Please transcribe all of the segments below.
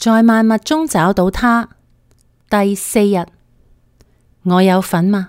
在萬物中找到他。第4日，我有份嗎？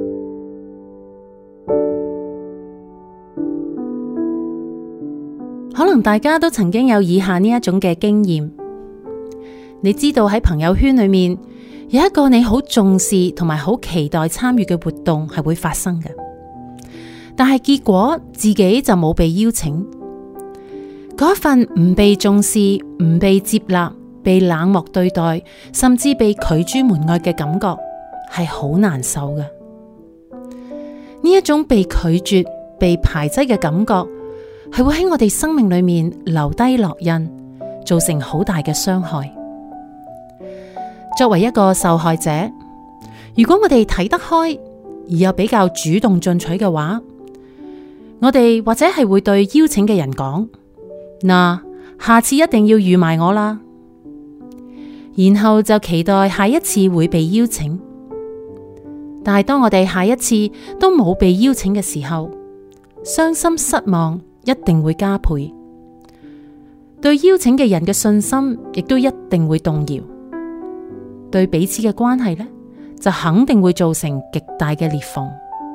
可能大家都曾經有以下呢一種嘅經驗，你知道喺朋友圈裏面有一個你好重視同埋好期待參與嘅活動係會發生嘅，但係結果自己就冇被邀請，嗰一份唔被重視、唔被接納、被冷漠對待，甚至被拒諸門外嘅感覺係好難受嘅。呢一種被拒絕、被排擠嘅感覺係會喺我哋生命裏面留低烙印，造成好大嘅傷害。作為一個受害者，如果我哋睇得開而又比較主動進取嘅話，我哋或者係會對邀請嘅人講：嗱，下次一定要預埋我啦。然後就期待下一次會被邀請。但係當我哋下一次都冇被邀請嘅時候，傷心失望一定會加倍，對邀請嘅人嘅信心亦都一定會動搖，對彼此嘅關係呢，就肯定會造成極大嘅裂縫。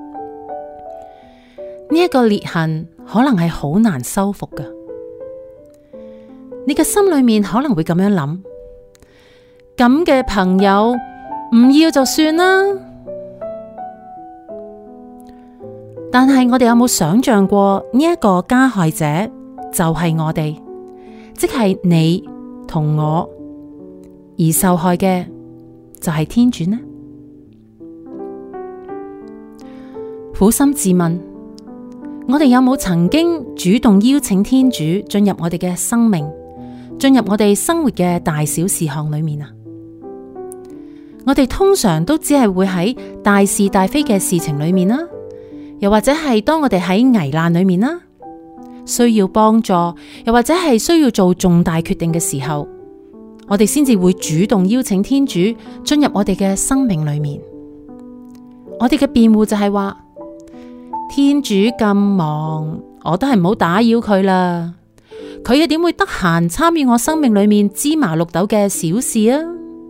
呢一個裂痕可能係好難修復㗎。你嘅心裏面可能會咁樣諗：咁嘅朋友唔要就算啦。但係我哋有冇想象過呢一個加害者就係我哋，即係你同我，而受害嘅就係天主呢？苦心自問，我哋有冇曾經主動邀請天主進入我哋嘅生命，進入我哋生活嘅大小事項裏面啊？我哋通常都只係會喺大是大非嘅事情裏面啦，又或者係當我哋喺危難裏面啦，需要幫助，又或者係需要做重大決定嘅時候，我哋先至會主動邀請天主進入我哋嘅生命裏面。我哋嘅辯護就係話：天主咁忙，我都係唔好打擾佢啦。佢又點會得閒參與我生命裏面芝麻綠豆嘅小事啊？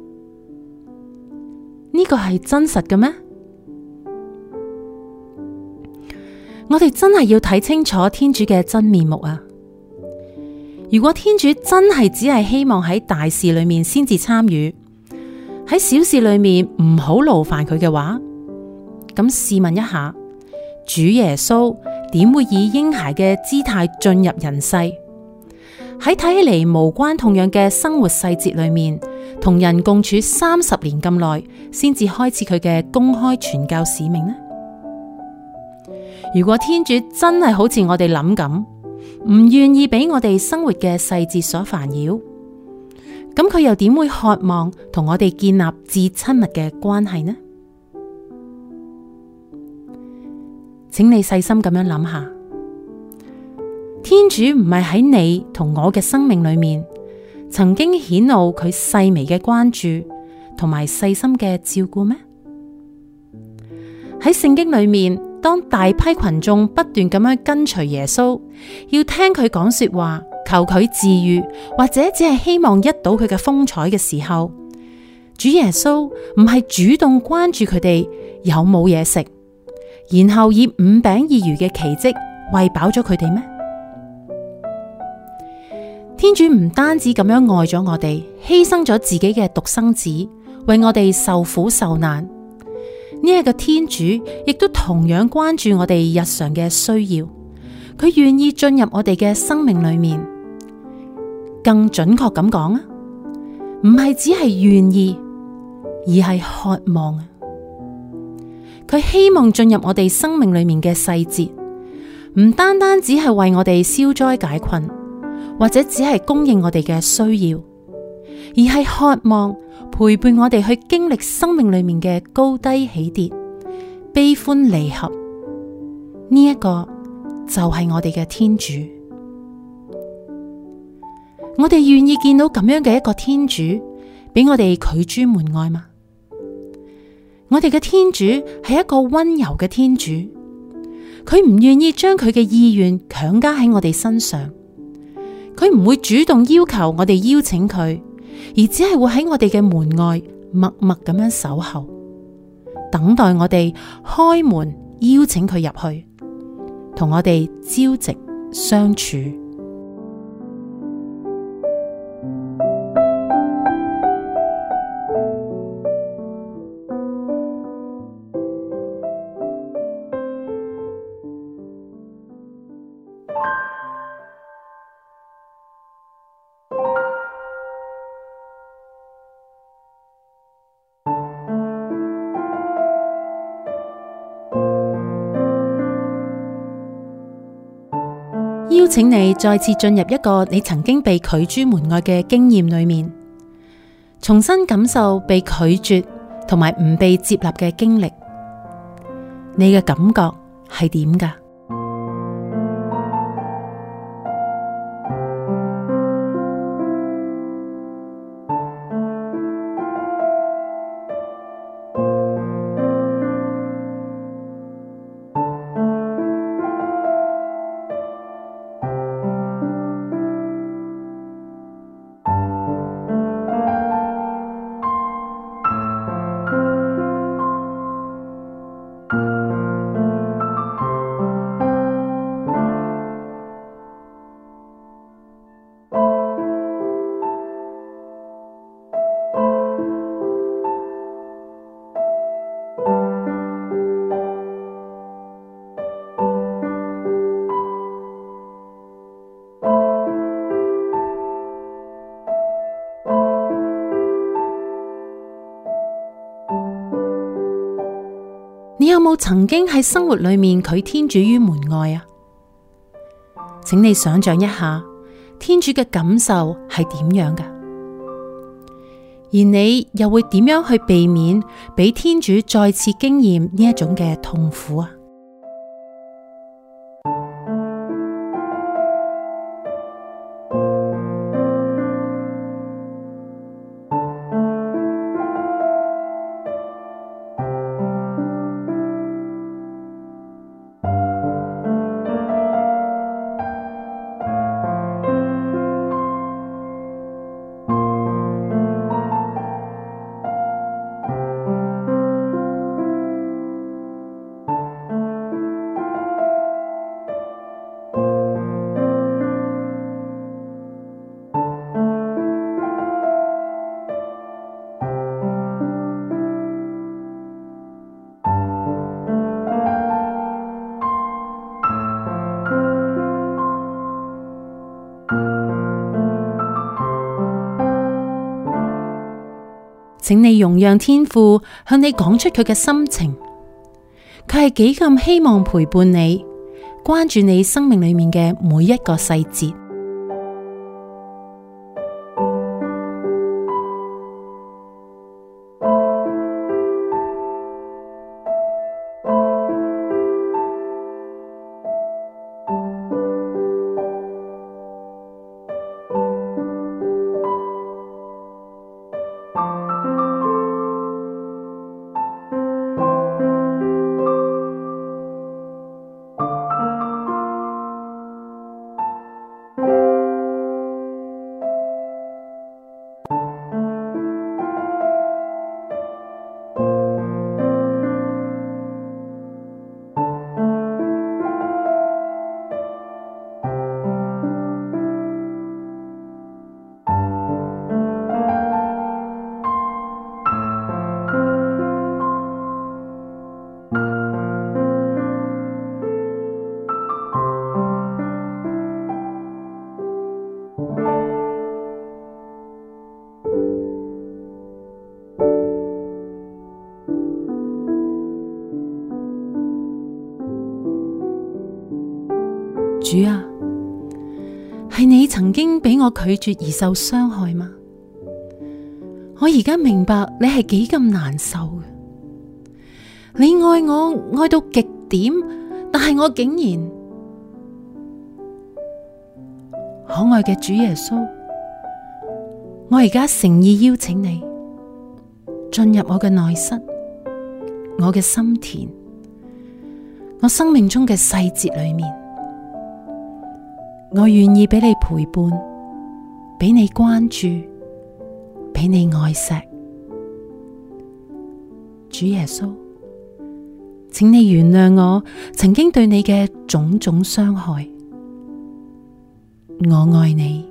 呢個係真實嘅咩？我哋真係要睇清楚天主嘅真面目啊！如果天主真係只係希望喺大事裏面先至參與，喺小事裏面唔好勞煩佢嘅話，咁試問一下，主耶穌點會以嬰孩嘅姿態進入人世？喺睇起嚟無關痛癢嘅生活細節裏面，同人共處30年咁耐，先至開始佢嘅公開傳教使命呢？如果天主真係好似我哋諗咁，唔願意俾我哋生活嘅細節所煩擾，咁佢又點會渴望同我哋建立至親密嘅關係呢？請你細心咁樣諗下，天主唔係喺你同我嘅生命裏面曾經顯露佢細微嘅關注同埋細心嘅照顧咩？喺聖經裏面，當大批群眾不斷咁樣跟隨耶穌，要聽佢講說話，求佢治癒，或者只係希望一睹佢嘅風采嘅時候，主耶穌唔係主動關注佢哋有冇嘢食，然後以5餅2魚嘅奇蹟餵飽咗佢哋咩？天主唔單止咁樣愛咗我哋，犧牲咗自己嘅獨生子，為我哋受苦受難。呢一個天主亦都同樣關注我哋日常嘅需要，佢願意進入我哋嘅生命裏面。更準確咁講啊，唔係只係願意，而係渴望啊。佢希望進入我哋生命裏面嘅細節，唔單單只係為我哋消災解困，或者只係供應我哋嘅需要，而係渴望陪伴我哋去經歷生命裏面嘅高低起跌、悲歡離合。呢一個就係我哋嘅天主。我哋願意見到咁樣嘅一個天主，俾我哋拒諸門外嗎？我哋嘅天主係一個溫柔嘅天主，佢唔願意將佢嘅意願強加喺我哋身上，佢唔會主動要求我哋邀請佢， 而只係會喺我哋嘅門外默默咁樣守候，等待我哋開門邀請佢入去，同我哋朝夕相處。邀請你再次進入一個你曾經被拒諸門外嘅經驗裏面，重新感受被拒絕同埋唔被接納嘅經歷。你嘅感覺係點㗎？你有冇曾經喺生活裏面拒天主於門外啊？請你想象一下，天主嘅感受係點樣㗎？而你又會點樣去避免俾天主再次經驗呢一種嘅痛苦啊？請你容讓天父向你講出佢嘅心情，佢係幾咁希望陪伴你，關注你生命裏面嘅每一個細節。主啊，係你曾經俾我拒絕而受傷害嗎？我而家明白你係幾咁難受嘅。你愛我愛到極點，但係我竟然……可愛嘅主耶穌，我而家誠意邀請你進入我嘅內室，我嘅心田，我生命中嘅細節裏面。我願意俾你陪伴，俾你關注， 俾你愛錫。主耶穌，請你原諒我曾經對你嘅種種傷害。我愛你。